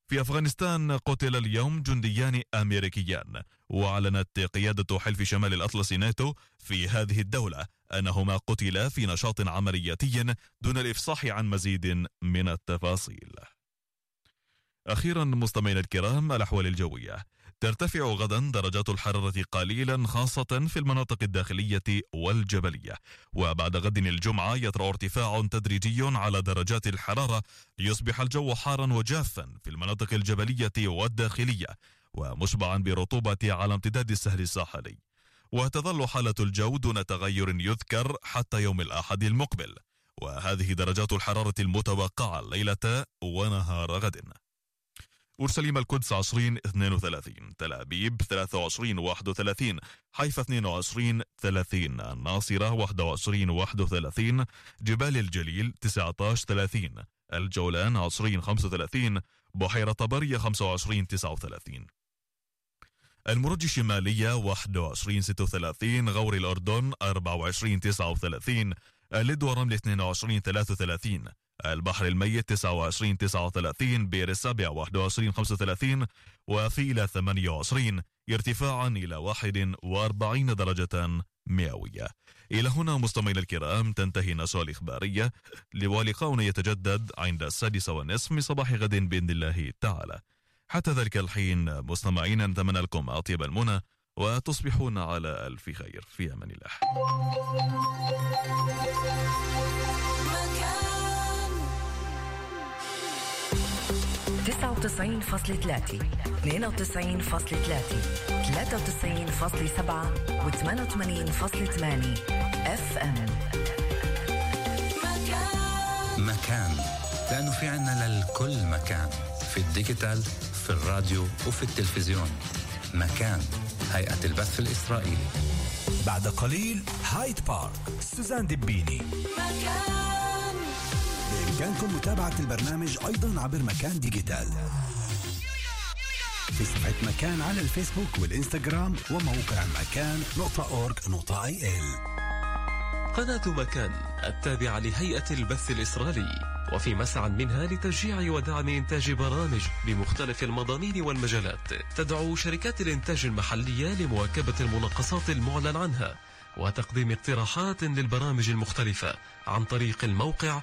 في أفغانستان قتل اليوم جنديان أمريكيان، وأعلنت قيادة حلف شمال الأطلس ناتو في هذه الدولة أنهما قتلا في نشاط عملياتي دون الإفصاح عن مزيد من التفاصيل. أخيرا مستمعينا الكرام، الأحوال الجوية: ترتفع غدا درجات الحرارة قليلا خاصة في المناطق الداخلية والجبلية، وبعد غد الجمعة يطرأ ارتفاع تدريجي على درجات الحرارة ليصبح الجو حارا وجافا في المناطق الجبلية والداخلية ومشبعا برطوبة على امتداد السهل الساحلي، وتظل حالة الجو دون تغير يذكر حتى يوم الأحد المقبل، وهذه درجات الحرارة المتوقعة ليلة ونهار غد: أورشليم القدس 20-32، تل أبيب 23-31، حيفا 22-30، الناصرة 21-31، جبال الجليل 19-30، الجولان 20-35، بحيرة طبرية 25-39، المرج الشمالية 21-36، غور الأردن 24-39، اللد ورمل 22-33، البحر الميت 29-39، بئر السابع 21-35، وفيلة 28 ارتفاعا إلى 41 درجة مئوية. إلى هنا مستمعينا الكرام تنتهي النشرة الإخبارية، ولقاؤنا يتجدد عند 6:30 من صباح غد بإذن الله تعالى. حتى ذلك الحين مستمعينا نتمنى لكم أطيب المنى وتصبحون على ألف خير، في أمان الله. 99.3 92.3 93.7 و88.8 FM. مكان، لأنه في عنا للكل مكان، في الديجيتال، في الراديو وفي التلفزيون. مكان، هيئة البث الإسرائيلي. بعد قليل هايد بارك، سوزان دبيني. مكان، بإمكانكم متابعة البرنامج أيضا عبر مكان ديجيتال في صفحة مكان على الفيسبوك والإنستغرام وموقع مكان.org.il. قناة مكان التابعة لهيئة البث الإسرائيلي، وفي مسعى منها لتشجيع ودعم إنتاج برامج بمختلف المضامين والمجالات. تدعو شركات الإنتاج المحلية لمواكبة المناقصات المعلن عنها وتقديم اقتراحات للبرامج المختلفة عن طريق الموقع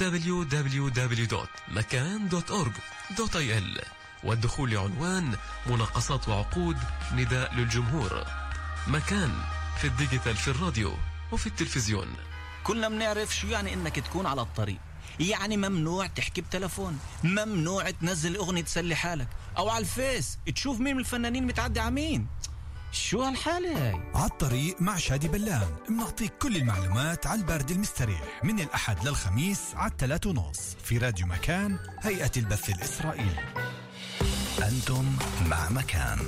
www.makan.org.il، والدخول لعنوان مناقصات وعقود نداء للجمهور. مكان، في الديجيتال، في الراديو وفي التلفزيون. كلنا بنعرف شو يعني انك تكون على الطريق، يعني ممنوع تحكي بتلفون، ممنوع تنزل اغنية تسلي حالك، او على الفيس تشوف مين من الفنانين متعدي عمين. شو هالحالة هاي؟ على الطريق مع شادي بلان بنعطيك كل المعلومات على البرد المستريح من الأحد للخميس على 3:30 في راديو مكان، هيئة البث الإسرائيلي. أنتم مع مكان.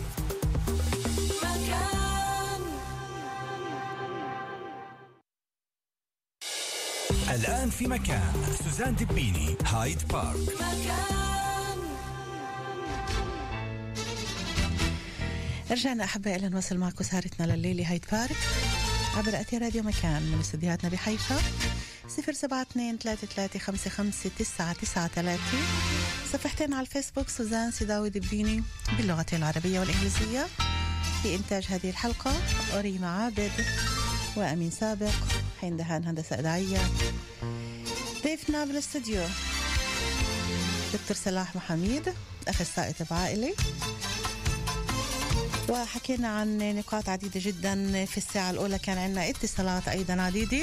الآن في مكان سوزان دبيني، هايد بارك. رجعنا أحبائي إلى نواصل معكم سهرتنا لليلة هايد بارك عبر أثير راديو مكان من استديوهاتنا بحيفا. 072-3355-993. صفحتين على الفيسبوك سوزان سيداوي دبيني باللغتين العربية والإنجليزية. في إنتاج هذه الحلقة أريما عابد وأمين سابق، حين دهان هندسة إذاعية. ضيفنا بالاستوديو دكتور صلاح محميد، أخصائي طب عائلي، وحكينا عن نقاط عديدة جدا. في الساعة الأولى كان عندنا اتصالات أيضا عديدة،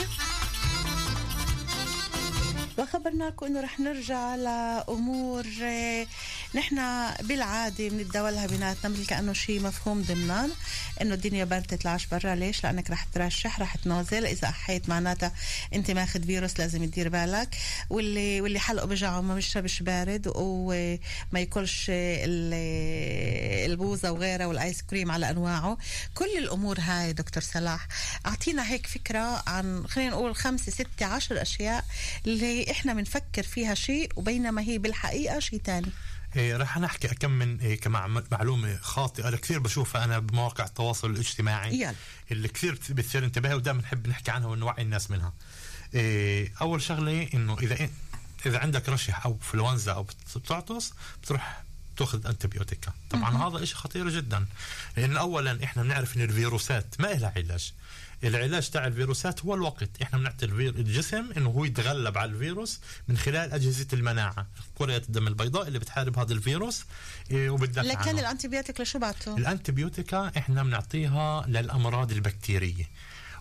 وخبرناكم أنه رح نرجع لأمور نحن بالعادة بنتداولها بيناتنا مثل كأنه شيء مفهوم ضمنان، أنه الدنيا بردت تطلعش برا. ليش؟ لأنك رح ترشح، رح تنازل. إذا أحيت معناتها أنت ماخد فيروس، لازم تدير بالك. واللي حلقه بجعه ما بيشربش بارد وما ياكلش البوزة وغيرها والآيس كريم على أنواعه. كل الأمور هاي دكتور صلاح أعطينا هيك فكرة عن، خلينا نقول 5 6 10 أشياء اللي إحنا بنفكر فيها شيء وبينما هي بالحقيقة شيء تاني. رح نحكي كم من معلومة خاطئة كثير بشوفها أنا بمواقع التواصل الاجتماعي اللي كثير بتصير انتباه ودائما نحب نحكي عنها ونوعي الناس منها. أول شغلة إنه إذا عندك رشح أو فلونزا أو بتعطس، بتروح تأخذ أنتبيوتيكا. طبعا هذا إشي خطير جدا، لأن أولا إحنا بنعرف إن الفيروسات ما إلها علاج. العلاج تاع الفيروسات هو الوقت. إحنا بنعطي الجسم إنه هو يتغلب على الفيروس من خلال أجهزة المناعة، كريات الدم البيضاء اللي بتحارب هذا الفيروس وبتدافع عنه. لكن الأنتبيوتيك لشو بعته؟ الأنتبيوتيكا إحنا بنعطيها للأمراض البكتيرية،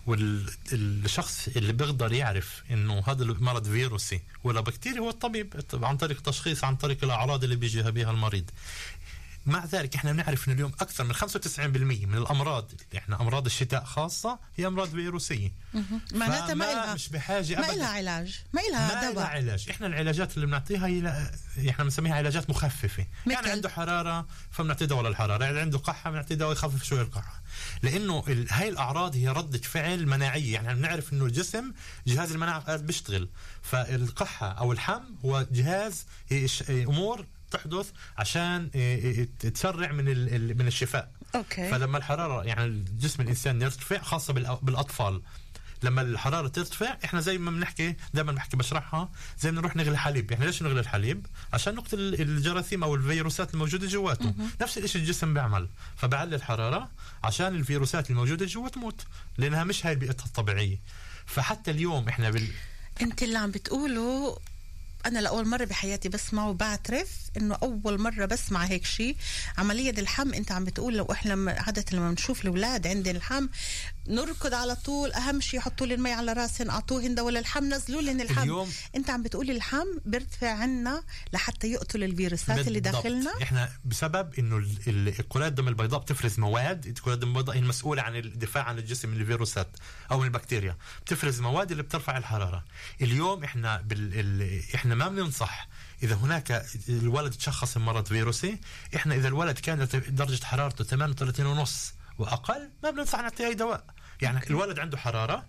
والشخص اللي بيقدر يعرف انه هذا المرض فيروسي ولا بكتيري هو الطبيب، عن طريق تشخيص، عن طريق الاعراض اللي بيجيها بها المريض. مع ذلك احنا بنعرف ان اليوم اكثر من 95% من الامراض، احنا امراض الشتاء خاصه هي امراض فيروسيه. معناتها ما لها مش بحاجه ما لها علاج، ما لها دواء. علاج. احنا العلاجات اللي بنعطيها هي احنا بنسميها علاجات مخففه. يعني عنده حراره فبنعطيه دواء للحراره، يعني عنده قحه بنعطيه دواء يخفف شويه القحه، لانه هاي الاعراض هي رده فعل مناعيه. يعني بنعرف انه الجسم جهاز المناعه بيشتغل، فالقحه او الحم هو جهاز امور تحدث عشان تسرع من الشفاء. أوكي. فلما الحراره، يعني الجسم الانسان يرتفع، خاصه بالاطفال، لما الحراره ترتفع احنا زي ما بنحكي دائما بحكي بشرحها، زي ما نروح نغلي حليب. احنا ليش نغلي الحليب؟ عشان نقتل الجراثيم او الفيروسات الموجوده جواته. نفس الشيء الجسم بيعمل، فبعلي الحراره عشان الفيروسات الموجوده جوا تموت، لانها مش هاي بيئتها الطبيعيه. فحتى اليوم احنا انت اللي عم بتقوله أنا لأول مرة بحياتي بسمعه، وبعترف إنه أول مرة بسمع هيك شيء. عملية الحم أنت عم بتقول، لو إحنا عادة لما بنشوف الأولاد عند الحم نركض على طول، أهم شيء يحطوا لي المي على راسهم، أعطوهن دواء للحم، نزلوا لهم الحم. أنت عم بتقول الحم بيرتفع عنا لحتى يقتل الفيروسات اللي داخلنا. إحنا بسبب إنه كريات الدم البيضاء بتفرز مواد، كريات الدم البيضاء هي المسؤولة عن الدفاع عن الجسم من الفيروسات أو من البكتيريا، بتفرز مواد اللي بترفع الحرارة. اليوم إحنا إحنا ما بننصح إذا هناك الولد تشخص مرض فيروسي، إحنا إذا الولد كانت درجة حرارته 38.5 وأقل ما بننصح نعطيه أي دواء. يعني الولد عنده حرارة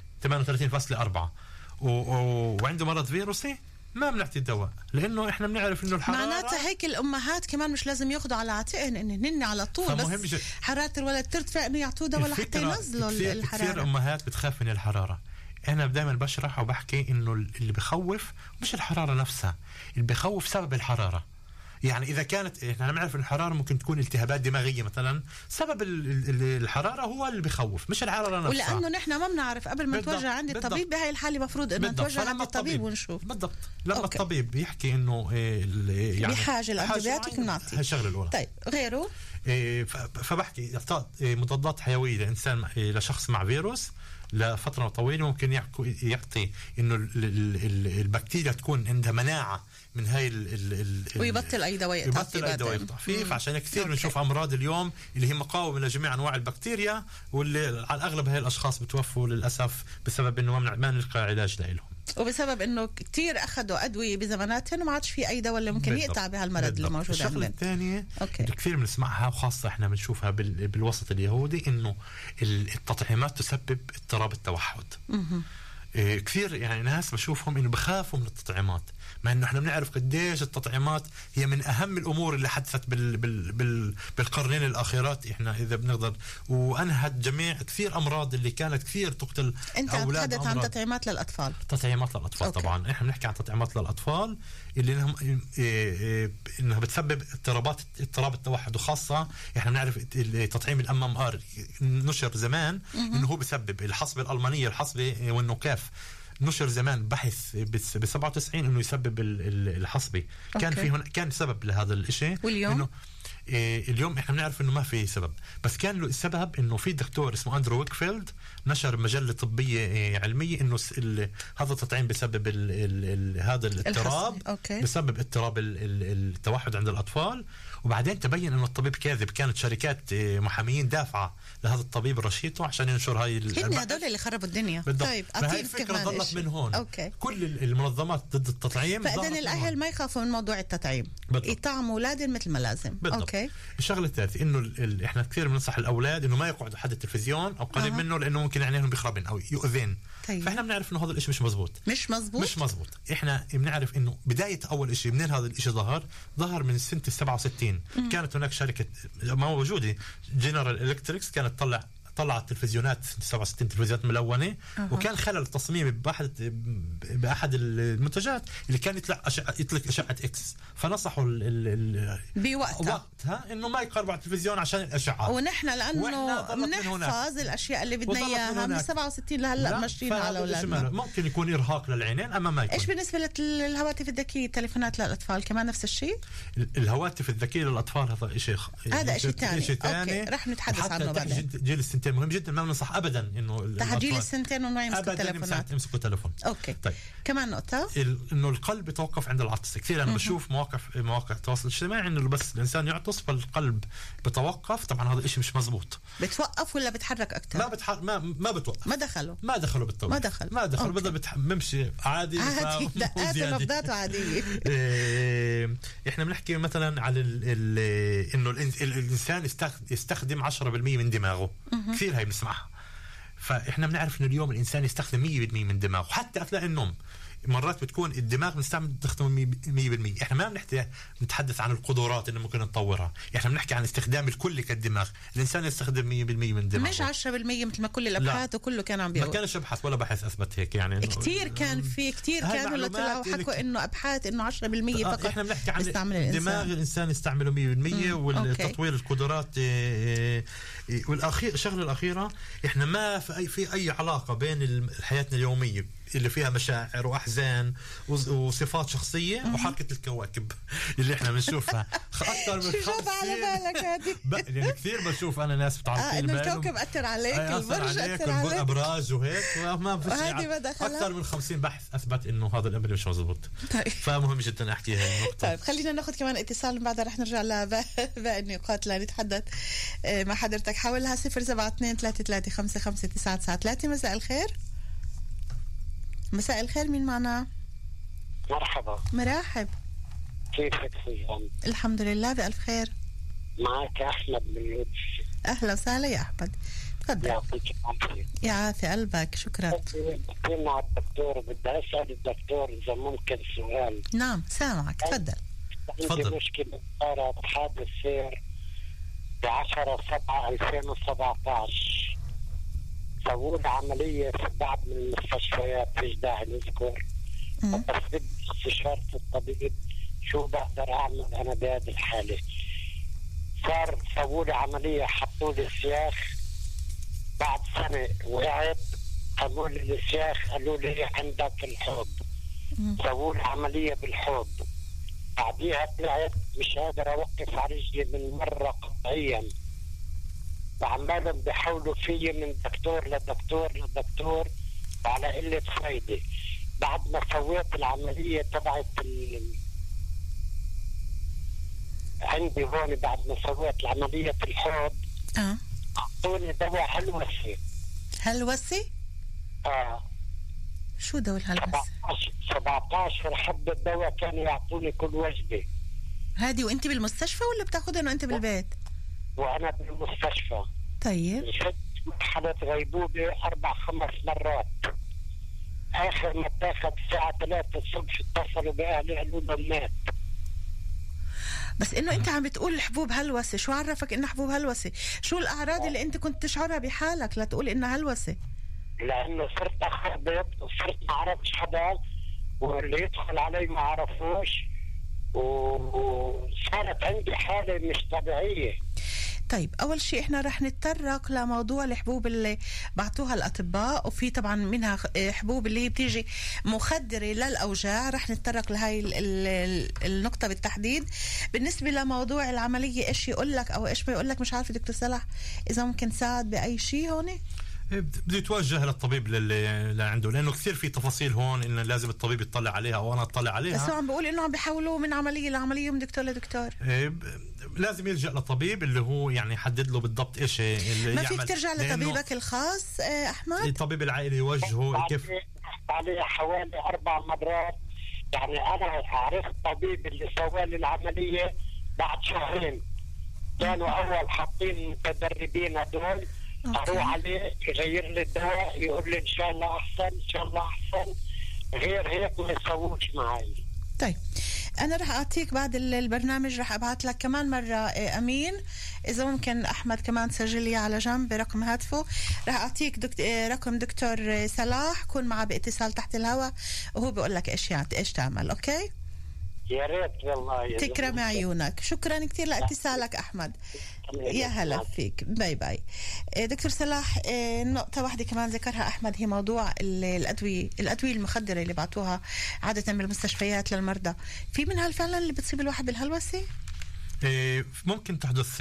38.4 وعنده مرض فيروسي ما بنعطي الدواء، لأنه إحنا بنعرف إنه الحرارة. معناتها هيك الأمهات كمان مش لازم ياخدوا على عاتقهن إن على طول بس حرارة الولد ترتفع إنه يعطوه دواء لحتى ينزلوا الحرارة. كثير أمهات بتخاف من الحرارة. أنا دائما بشرح وبحكي إنه اللي بخوف مش الحرارة نفسها، اللي بخوف سبب الحرارة. يعني إذا كانت إحنا نعرف إن الحرارة ممكن تكون التهابات دماغية مثلا، سبب الحرارة هو اللي بخوف مش الحرارة نفسها. ولأنه نحن ما بنعرف قبل ما نتوجه عند الطبيب بهاي الحالة مفروض إنه نتوجه عند الطبيب ونشوف. بالضبط. لما الطبيب يحكي إنه يعني بحاجة الأنتبيوتيك نعطي. الشغلة الأولى. طيب غيره؟ فبحكي مضادات حيوية لإنسان لشخص مع فيروس لفترة طويلة ممكن يعطي إنه البكتيريا تكون عندها مناعة من هاي ويبطل أي دواء يقطع فيه. فعشان كثير بنشوف أمراض اليوم اللي هي مقاومة لجميع أنواع البكتيريا، واللي على الأغلب هاي الأشخاص بتوفوا للأسف بسبب إنه ما نلقى علاج لهم، وبسبب إنه كتير أخذوا أدوية بزماناتهم وما عادش في أي دواء اللي ممكن يقطع بهالمرض اللي موجود عندنا. الشغلة الثانية اللي كثير بنسمعها وخاصة إحنا بنشوفها بالوسط اليهودي، إنه التطعيمات تسبب اضطراب التوحد. كثير يعني ناس بشوفهم إنه بخافوا من التطعيمات، مع إنه إحنا بنعرف قديش التطعيمات هي من أهم الأمور اللي حدثت بالقرنين الأخيرات. إحنا إذا بنقدر وأنهت جميع كثير أمراض اللي كانت كثير تقتل أولاد. أنت تحدث عن تطعيمات للأطفال. تطعيمات للأطفال طبعا. إحنا بنحكي عن تطعيمات للأطفال اللي إنها بتسبب اضطراب التوحد، وخاصة إحنا بنعرف تطعيم الMMR نشر زمان إنه هو بسبب الحصبة الألمانية، الحصبة والنكاف نشر زمان بحث ب97 انه يسبب الحصبة. كان سبب لهذا الشيء. واليوم إنه اليوم احنا بنعرف انه ما في سبب، بس كان له السبب انه في دكتور اسمه أندرو ويكفيلد نشر مجلة طبية علمية انه هذا التطعيم بسبب هذا الاضطراب، بسبب اضطراب التوحد عند الأطفال. وبعدين تبين انه الطبيب كاذب، كانت شركات محاميين دافعة لهذا الطبيب رشيته عشان ينشر هاي هن هذول اللي خربوا الدنيا. طيب هاي الفكرة ضلت من هون. كل المنظمات ضد التطعيم. فإذن الأهل ما يخافوا من موضوع التطعيم، يطعموا أولادهم مثل ما لازم. الشغله الثالثه انه احنا كثير بننصح الاولاد انه ما يقعدوا حد التلفزيون او قريب منه، لانه ممكن عينيهم بيخربن او يؤذين. فاحنا بنعرف انه هذا الشيء مش مزبوط. احنا بنعرف انه بدايه اول شيء منين هذا الشيء ظهر من سنه 67. كانت هناك شركه موجوده جنرال الكتريكس كانت تطلع طلعت تلفزيونات 67 تلفزيونات ملونة وكان خلل تصميمي بأحد المنتجات اللي كان يطلق أشعة إكس، فنصحوا بوقتها إنه ما يقربوا على التلفزيون عشان الأشعة. ونحن لأنه بنحفظ الأشياء اللي بدنا إياها من 67 لهلا ماشيين على أولادنا. ممكن يكون إرهاق للعينين أما ما يكون. إيش بالنسبة للهواتف الذكية التليفونات للأطفال كمان نفس الشيء؟ الهواتف الذكية للأطفال هذا شيء ثاني. رح نتحدث عنه بعدين. جيل السنتين مهم جدا، ما بننصح ابدا انه جيل السنتين وما يمسكوا تليفون. اوكي طيب كمان نقطه انه القلب يتوقف عند العطس. كثير انا بشوف مواقع التواصل الاجتماعي انه بس الانسان يعطس فالقلب بتوقف. طبعا هذا الشيء مش مزبوط. بتوقف ولا بتحرك اكثر؟ ما بتوقف. ما دخلوا بالتوقف. ما دخلوا بدل بمشي عادي دقات ونبضات عاديه. احنا بنحكي مثلا على انه الانسان يستخدم 10% من دماغه. كثير هاي بنسمعها. فاحنا بنعرف انه اليوم الانسان يستخدم 100% من دماغه، حتى اثناء النوم مرات بتكون الدماغ بنستخدم 100%. احنا ما بنتحدث عن القدرات اللي ممكن نطورها، احنا بنحكي عن استخدام الكل كالدماغ. الانسان يستخدم 100% من دماغه، مش 10% مثل ما كل الابحاث وكله كان عم بيقول. ما كانش ابحاث ولا بحث اثبت هيك يعني. كثير كانوا اللي طلعوا حكوا انه ابحاث انه 10% فقط. احنا بنحكي عن دماغ الانسان يستعمله 100% والتطوير القدرات. والاخير الشغله الاخيره، احنا ما في اي علاقه بين حياتنا اليوميه اللي فيها مشاعر واحزان وصفات شخصيه وحركه الكواكب اللي احنا بنشوفها اكثر من 50. شو على بالك هذه؟ يعني كثير بشوف انا ناس انه الكوكب اثر عليك، البرج اثر عليك، الابراج وهيك، ما في شيء. اكثر من 50 بحث اثبت انه هذا الامر مش مزبوط. طيب. فمهم جدا احكي هاي النقطه. طيب خلينا ناخذ كمان اتصال، بعدها رح نرجع لباقي النقاط لنتحدث مع حضرتك. حولها 072-3355-993. مساء الخير. مساء الخير، مين معنا؟ مرحبا. مرحب. كيفك سيدان؟ الحمد لله بألف خير. معك أحمد من يوتش. أهلا وسهلا يا أحمد، تفضل. يعطيك العافية. يعافي قلبك، شكرا. مع الدكتور، بدي أسأل الدكتور إذا ممكن سؤال. نعم سامعك، تفضل. عندي مشكلة، صارت حادث سير ب10/7/2017. سووا لي عملية في بعض من المستشفيات، فيش داعي نذكر، بس بدي استشارة الطبيب شو بقدر أعمل أنا بهذه الحالة. سووا لي عملية، حطوا لي سياخ، بعد سنة وقعت، قالوا لي السياخ، قالوا لي عندك الحوض. سووا لي عملية بالحوض، بعديها طلعت مش قادر أوقف على رجلي من مرة قطعيا، وعمالهم بيحاولوا فيي من دكتور لدكتور وعلى قلة فايدة. بعد ما سويت العملية تبعت عندي هون، بعد ما سويت العملية في الحوض أعطوني دواء هلوسي. شو دواء الهلوسي؟ 17 حبة دواء كانوا يعطوني كل وجبة. هادي وانت بالمستشفى ولا بتاخدها وانت بالبيت؟ وأنا بالمستشفى. طيب. شفت مرحلة غيبوبة 4-5 مرات. آخر ما تاخد الساعة 3 الصبح اتصلوا بأهلي قالوا له مات. بس إنه أنت عم بتقول حبوب هلوسة، شو عرفك إنها حبوب هلوسة؟ شو الأعراض اللي أنت كنت تشعرها بحالك لتقول إنها هلوسة؟ لأنه صرت أخربط وصرت ما عرفش حدا، واللي يدخل علي ما عرفوش، وصارت عندي حالة مش طبيعية. طيب أول شيء إحنا رح نتطرق لموضوع الحبوب اللي بعطوها الأطباء، وفي طبعا منها حبوب اللي هي بتيجي مخدرة للأوجاع، رح نتطرق لهاي النقطة بالتحديد. بالنسبة لموضوع العملية إيش يقول لك أو إيش ما يقول لك، مش عارفة دكتور صلاح إذا ممكن ساعد بأي شيء هون. بده يتوجه للطبيب اللي عنده، لانه كثير في تفاصيل هون انه لازم الطبيب يطلع عليها او انا اطلع عليها. بس هو عم بقول انه عم بيحولوه من عمليه لعمليه من دكتور لدكتور. لازم يلجأ لطبيب اللي هو يعني يحدد له بالضبط ايش اللي ما فيك ترجع لطبيبك الخاص احمد؟ الطبيب العائلي يوجهه كيف عليه حوالي 4 مرات. يعني انا عرفت طبيب اللي سوى لي العمليه بعد شهرين، كانوا اول حاطين متدربين هدول، اروح عليه يغير لي الدواء، يقول لي ان شاء الله احسن ان شاء الله احسن، غير هيك ما يسووش معي. طيب انا رح اعطيك بعد البرنامج، رح ابعث لك كمان مره امين اذا ممكن احمد كمان تسجل لي على جنب برقم هاتفه. رح اعطيك رقم دكتور صلاح، كون معه باتصال تحت الهواء وهو بيقول لك ايش تعمل. اوكي يا ريت والله. تكرم عيونك. شكرا كثير لاتصالك احمد. يا هلا فيك. باي باي. دكتور صلاح، نقطة واحدة كمان ذكرها أحمد هي موضوع الأدوية المخدرة اللي بعطوها عادة بالمستشفيات للمرضى. في منها فعلا اللي بتصيب الواحد بالهلوسة؟ ممكن تحدث.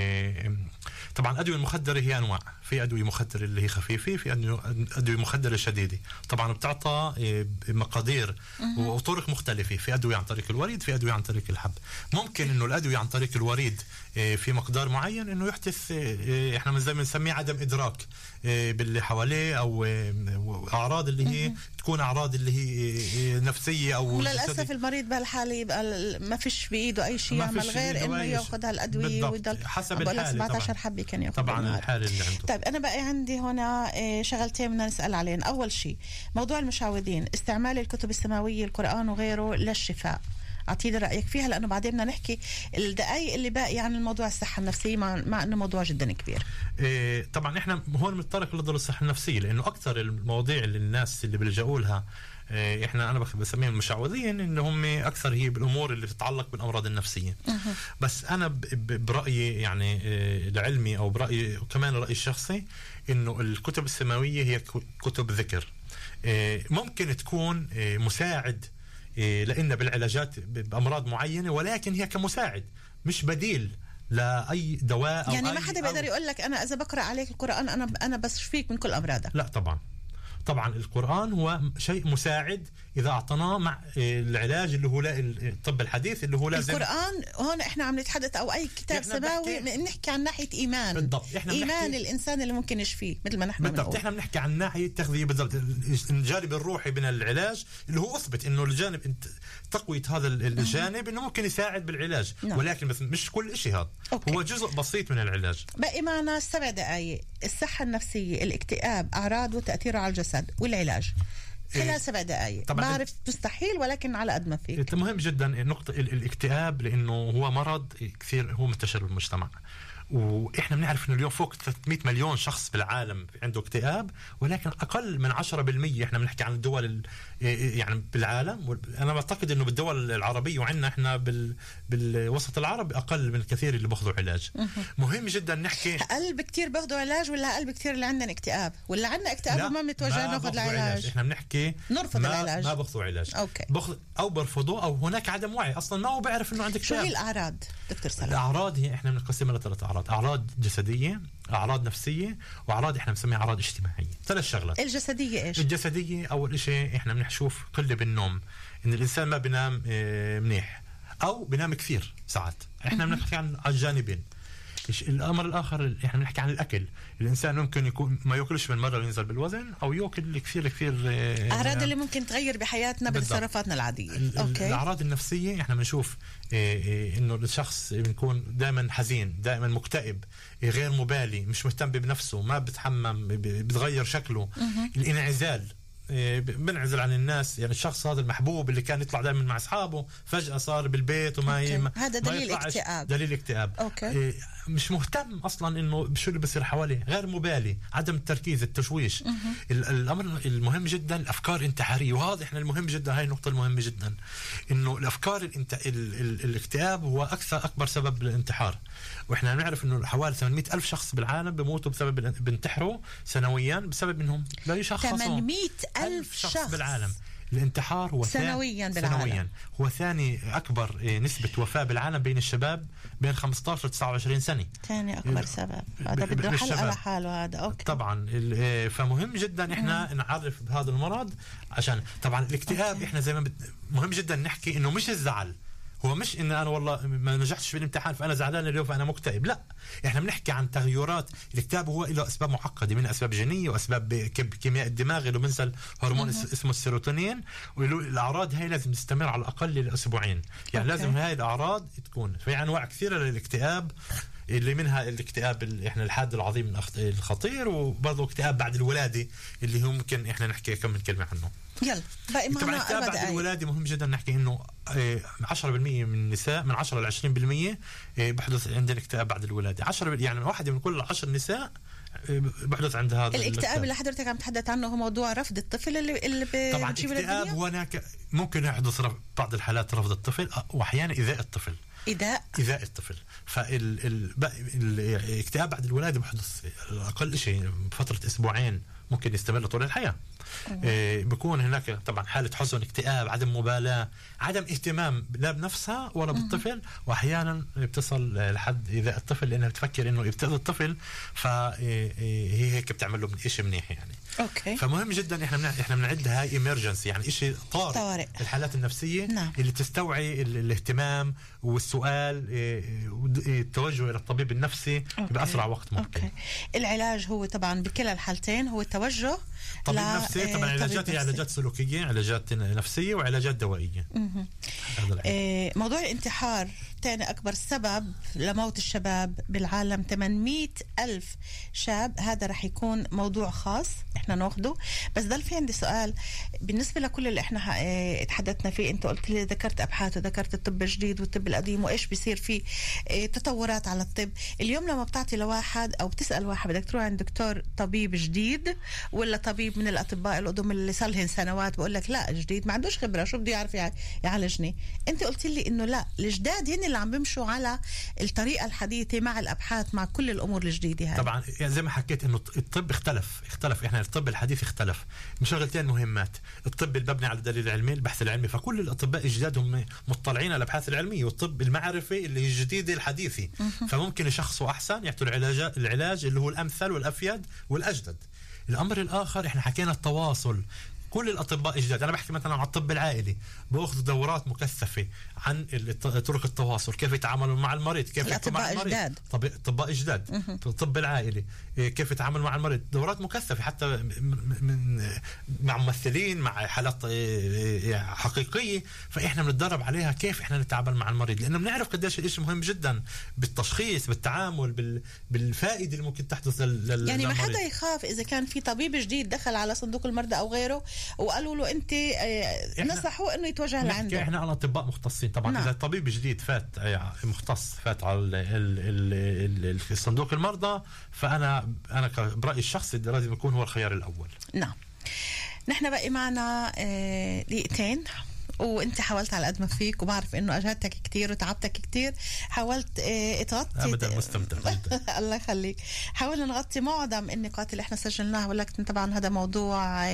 طبعا الأدوية المخدرة هي أنواع، في أدوية مخدرة اللي هي خفيفة، في أدوية مخدرة شديدة. طبعا بتعطى مقادير وطرق مختلفة، في أدوية عن طريق الوريد، في أدوية عن طريق الحب. ممكن إنه الأدوية عن طريق الوريد في مقدار معين إنه يحدث إحنا زي ما نسميه عدم إدراك باللي حواليه، أو أعراض اللي هي تكون أعراض اللي هي نفسية أو وللأسف المريض بهالحالة يبقى ما فيش بإيده أي شيء يعمل غير إنه يأخذ هالأدوية ويضل حسب الحالة. 17 حبة كان يأخذ طبعا الحالة اللي عنده. طيب أنا بقى عندي هنا شغلتين بدنا نسأل عليهم. أول شيء موضوع المشعوذين، استعمال الكتب السماوية القرآن وغيره للشفاء، أعطيني رأيك فيها لأنه بعدين بدنا نحكي الدقائق اللي باقي عن الموضوع الصحة النفسية مع أنه موضوع جدا كبير. طبعا إحنا هون بنتطرق للصحة النفسية لأنه أكثر المواضيع اللي الناس اللي بيلجأوا لها أنا بسميهم المشعوذين، إن هم أكثر هي بالأمور اللي تتعلق بالأمراض النفسية. بس أنا برأيي يعني لعلمي أو برأيي كمان رأيي الشخصي إنه الكتب السماوية هي كتب ذكر، ممكن تكون مساعد لأن بالعلاجات بأمراض معينة، ولكن هي كمساعد مش بديل لا دواء. يعني ما حدا بيقدر يقول لك أنا إذا بقرأ عليك القرآن أنا بشفيك من كل أمراضك. لا طبعا القرآن هو شيء مساعد إذا أعطناه مع العلاج اللي هو الطب الحديث اللي هو لازم. القرآن هون إحنا عم نتحدث أو أي كتاب سماوي نحكي عن ناحية إيمان. بالضبط. إيمان الإنسان اللي ممكن يشفيه مثل ما نحن بالضبط. إحنا بنحكي عن ناحية تغذية بالضبط، الجانب الروحي من العلاج اللي هو أثبت إنه الجانب تقوية هذا الجانب إنه ممكن يساعد بالعلاج. ولكن بس مش كل شيء هذا. هو جزء بسيط من العلاج. بقي معنا 7 دقائق. الصحة النفسية، الاكتئاب، أعراض وتأثيره على الجسد والعلاج خلال 7 دقائق. بعرف مستحيل ولكن على قد ما فيك. مهم جدا نقطة الاكتئاب لأنه هو مرض كثير هو منتشر بالمجتمع، وإحنا بنعرف إنه اليوم فوق 300 مليون شخص بالعالم عنده اكتئاب، ولكن أقل من 10%. إحنا بنحكي عن الدول يعني بالعالم. أنا بعتقد إنه بالدول العربية وعندنا إحنا بالوسط العربي أقل من الكثير اللي بأخذوا علاج. مهم جدا نحكي أقل بكتير بأخذوا علاج ولا أقل بكتير اللي عندنا اكتئاب ولا عندنا اكتئاب وما بنتوجه ناخذ العلاج؟ إحنا بنحكي نرفض العلاج، ما بأخذوا علاج. أو برفضوا أو هناك عدم وعي أصلا ما هو بيعرف إنه عندك اكتئاب. شو هي الأعراض دكتور صلاح؟ الأعراض هي إحنا بنقسمها ل3 أعراض: أعراض جسدية، أعراض نفسية، وأعراض إحنا بنسميها أعراض اجتماعية. 3 شغلات. الجسدية إيش؟ الجسدية أول شيء إحنا بنشوف قلة بالنوم، إن الإنسان ما بينام منيح أو بينام كثير ساعات. إحنا بنحكي عن الجانبين. الأمر الآخر إحنا بنحكي عن الأكل. الإنسان ممكن يكون ما يأكلش من مرة وينزل بالوزن، أو يأكل كثير أعراض اللي ممكن تغير بحياتنا بتصرفاتنا العادية. الأعراض النفسية إحنا بنشوف إنه الشخص بيكون دائما حزين، دائما مكتئب، غير مبالي، مش مهتم بنفسه، ما بتحمم، بتغير شكله. الانعزال، بنعزل عن الناس. يعني الشخص هذا المحبوب اللي كان يطلع دائما مع أصحابه فجأة صار بالبيت وما هذا دليل اكتئاب. دليل اكتئاب. مش مهتم أصلا إنه بشو اللي بصير حواليه، غير مبالي، عدم التركيز، التشويش. الأمر المهم جدا الأفكار الانتحارية، وهذا إحنا المهم جدا، هاي النقطة المهمة جدا، إنه الأفكار الاكتئاب هو أكبر سبب للانتحار. وإحنا نعرف إنه حوالي 800,000 شخص بالعالم بموتوا بينتحروا سنويا بسبب إنهم لا يشخصوا. 800,000 شخص بالعالم. الانتحار هو سنويا بالعالم. هو ثاني أكبر نسبة وفاة بالعالم بين الشباب بين 15 و 29 سنة. ثاني أكبر سبب. هذا بده حلقة لحاله هذا. طبعا فمهم جدا إحنا نعرف بهذا المرض، عشان طبعا الاكتئاب إحنا زي ما مهم جدا نحكي إنه مش الزعل، هو مش إن أنا والله ما نجحتش في الامتحان فأنا زعلان اليوم فأنا مكتئب. لا، إحنا بنحكي عن تغيرات. الاكتئاب هو له أسباب معقدة، من أسباب جينية وأسباب كيمياء الدماغ اللي بنسى هرمون اسمه السيروتونين. والأعراض هاي لازم تستمر على الأقل لأسبوعين. يعني لازم هاي الأعراض تكون. في أنواع كثيرة للاكتئاب، اللي منها الاكتئاب احنا الحاد العظيم الخطير، وبرضه اكتئاب بعد الولادة اللي هو ممكن احنا نحكي كم من كلمة عنه. يلا باقي معنا طبعا الاكتئاب بعد الولادة مهم جدا نحكي انه 10% من النساء، من 10 ل 20% بحدث عندنا اكتئاب بعد الولادة. 10 يعني واحدة من كل 10 نساء بحدث عند هذا الاكتئاب اللي حضرتك عم تحدث عنه هو موضوع رفض الطفل اللي طبعا اكتئاب. هناك ممكن يحدث بعض الحالات رفض الطفل، واحيانا ايذاء الطفل. إيذاء الطفل. فالاكتئاب بعد الولادة بحدث أقل شيء بفترة أسبوعين، ممكن يستمر طول الحياة. بيكون هناك طبعا حالة حزن، اكتئاب، عدم مبالاة، عدم اهتمام لا بنفسها ولا بالطفل، واحيانا بتصل لحد إيذاء الطفل لأنها بتفكر إنه بتأذي الطفل، فهي هيك بتعمل له شيء منيح يعني. أوكي. فمهم جدا احنا بنعد هاي emergency، يعني شيء طارئ. الحالات النفسية نعم. اللي تستوعي الاهتمام والسؤال، التوجه إلى الطبيب النفسي بأسرع وقت ممكن. أوكي. العلاج هو طبعا بكلا الحالتين هو التوجه طبيب نفسي. طبعا علاجات هي علاجات سلوكية، علاجات نفسية، وعلاجات دوائية. موضوع الانتحار ثاني أكبر سبب لموت الشباب بالعالم، 800,000 شاب. هذا رح يكون موضوع خاص احنا ناخده. بس ضل في عندي سؤال بالنسبة لكل اللي احنا اتحدثنا فيه. انت قلت لي ذكرت أبحاث وذكرت الطب الجديد والطب القديم وإيش بيصير فيه تطورات على الطب. اليوم لما بتعطي لواحد أو بتسأل واحد بدك تروح عند دكتور طبيب جديد ولا طبيب من الأطباء القدم اللي صار لهم سنوات، بقول لك لا جديد ما عندوش خبرة، شو بده يعرف يعالجني. انت قلت لي انه لا، الجداد هن اللي عم بيمشوا على الطريقة الحديثة مع الأبحاث مع كل الأمور الجديدة هاي. طبعا زي ما حكيت انه الطب اختلف. احنا الطب الحديث اختلف من شغلتين مهمات: الطب المبني على الدليل العلمي، البحث العلمي. فكل الأطباء الجداد هم مطلعين على الأبحاث العلمية، والطب المعرفي اللي هي الجديدة الحديثة. فممكن يشخصوا أحسن، يعطوا العلاج اللي هو الأمثل والأفيد والأجدد. الأمر الآخر احنا حكينا التواصل. كل الأطباء الجداد، أنا بحكي مثلا عن الطب العائلي، بأخذ دورات مكثفة عن طرق التواصل، كيف يتعاملوا مع المريض، كيف يحكوا مع المريض. أطباء جداد. الطب العائلي كيف يتعامل مع المريض، دورات مكثفة حتى مع ممثلين، مع حالات حقيقية. فإحنا بنتدرب عليها كيف إحنا نتعامل مع المريض، لأنه بنعرف قديش الإشي مهم جدا بالتشخيص، بالتعامل، بالفائدة اللي ممكن تحدث يعني ما حدا يخاف إذا كان في طبيب جديد دخل على صندوق المرضى أو غيره وقالوا له انت نصحوا انه يتوجه لعنده. احنا على اطباء مختصين طبعا. نعم. اذا طبيب جديد فات مختص فات على صندوق المرضى، فانا برايي الشخصي لازم يكون هو الخيار الاول. نعم. نحن بقي معنا دقيقتين، وانت حاولت على قد ما فيك، وبعرف انه اجهدتك كتير وتعبتك كتير، حاولت تغطي. ابدا مستمتع جدا. الله يخليك. حاولنا نغطي معظم النقاط اللي احنا سجلناها، ولكن طبعا هذا موضوع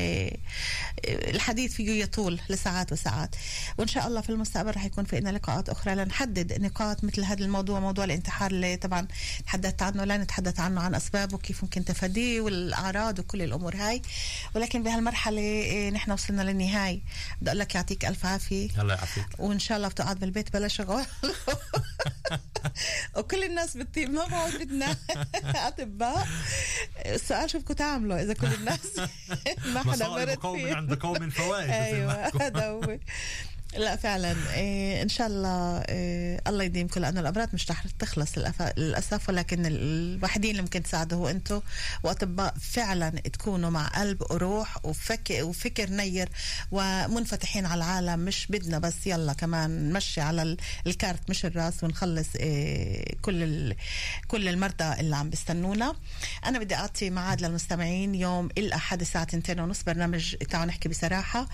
الحديث فيه يطول لساعات وساعات، وان شاء الله في المستقبل رح يكون في لنا لقاءات اخرى لنحدد نقاط مثل هذا الموضوع، موضوع الانتحار اللي طبعا تحدثت عنه، لا نتحدث عنه عن اسبابه وكيف ممكن تفاديه والاعراض وكل الامور هاي. ولكن بهالمرحله نحن وصلنا للنهايه. بدي اقول لك يعطيك الف عافية. الله يعافيك. وإن شاء الله بتقعد بالبيت بلا شغل. وكل الناس بتطيب ما بعد بدنا أطباء. السؤال شو بدكم تعملوا إذا كل الناس ما حدا مرض فيه. عند قوم فوائد. أيوة هذا هو. لا فعلا إن شاء الله الله يديمكم، لأنه الأمراض مش رح تخلص للأسف، ولكن الوحيدين اللي ممكن تساعدوا هو أنتوا وأطباء فعلا تكونوا مع قلب وروح وفكر نير ومنفتحين على العالم. مش بدنا بس يلا كمان نمشي على الكارت مش الراس ونخلص كل المرضى اللي عم بيستنونا. أنا بدي أعطي معاد للمستمعين يوم الأحد الساعة 2:30 برنامج تعالوا نحكي بصراحة.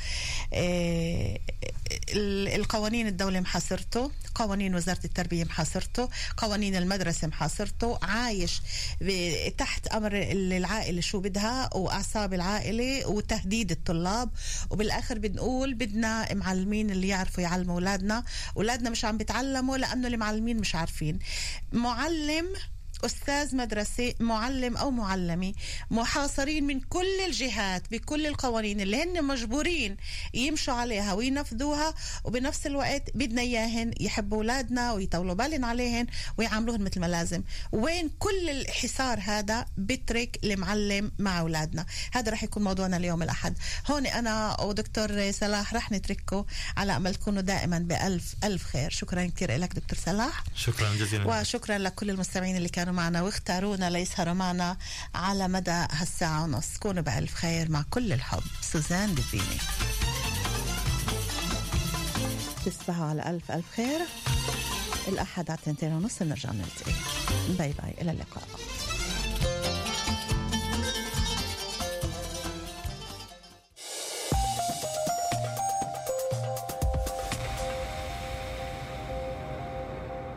القوانين الدولة محاصرته، قوانين وزارة التربية محاصرته، قوانين المدرسة محاصرته، عايش تحت أمر العائلة شو بدها وأعصاب العائلة وتهديد الطلاب. وبالآخر بنقول بدنا معلمين اللي يعرفوا يعلموا أولادنا مش عم بيتعلموا لأنه المعلمين مش عارفين. معلم أستاذ مدرسة، معلم أو معلمة محاصرين من كل الجهات بكل القوانين اللي هن مجبورين يمشوا عليها وينفذوها، وبنفس الوقت بدنا إياهن يحبوا أولادنا ويطولوا بالن عليهن ويعاملوهن مثل ما لازم. وين كل الحصار هذا بترك المعلم مع أولادنا؟ هذا رح يكون موضوعنا اليوم الأحد. هون أنا ودكتور صلاح رح نترككم على أمل تكونوا دائما بألف ألف خير. شكرا كتير لك دكتور صلاح. شكرا جزيلا. وشكرا لكل المستمعين اللي كانوا معنا واختارونا ليسهروا معنا على مدى هالساعة ونص. كونوا بألف خير مع كل الحب. سوزان دفيني. تصبحوا على ألف ألف خير. الأحد على 2:30 نرجع نلتقي. باي باي، إلى اللقاء.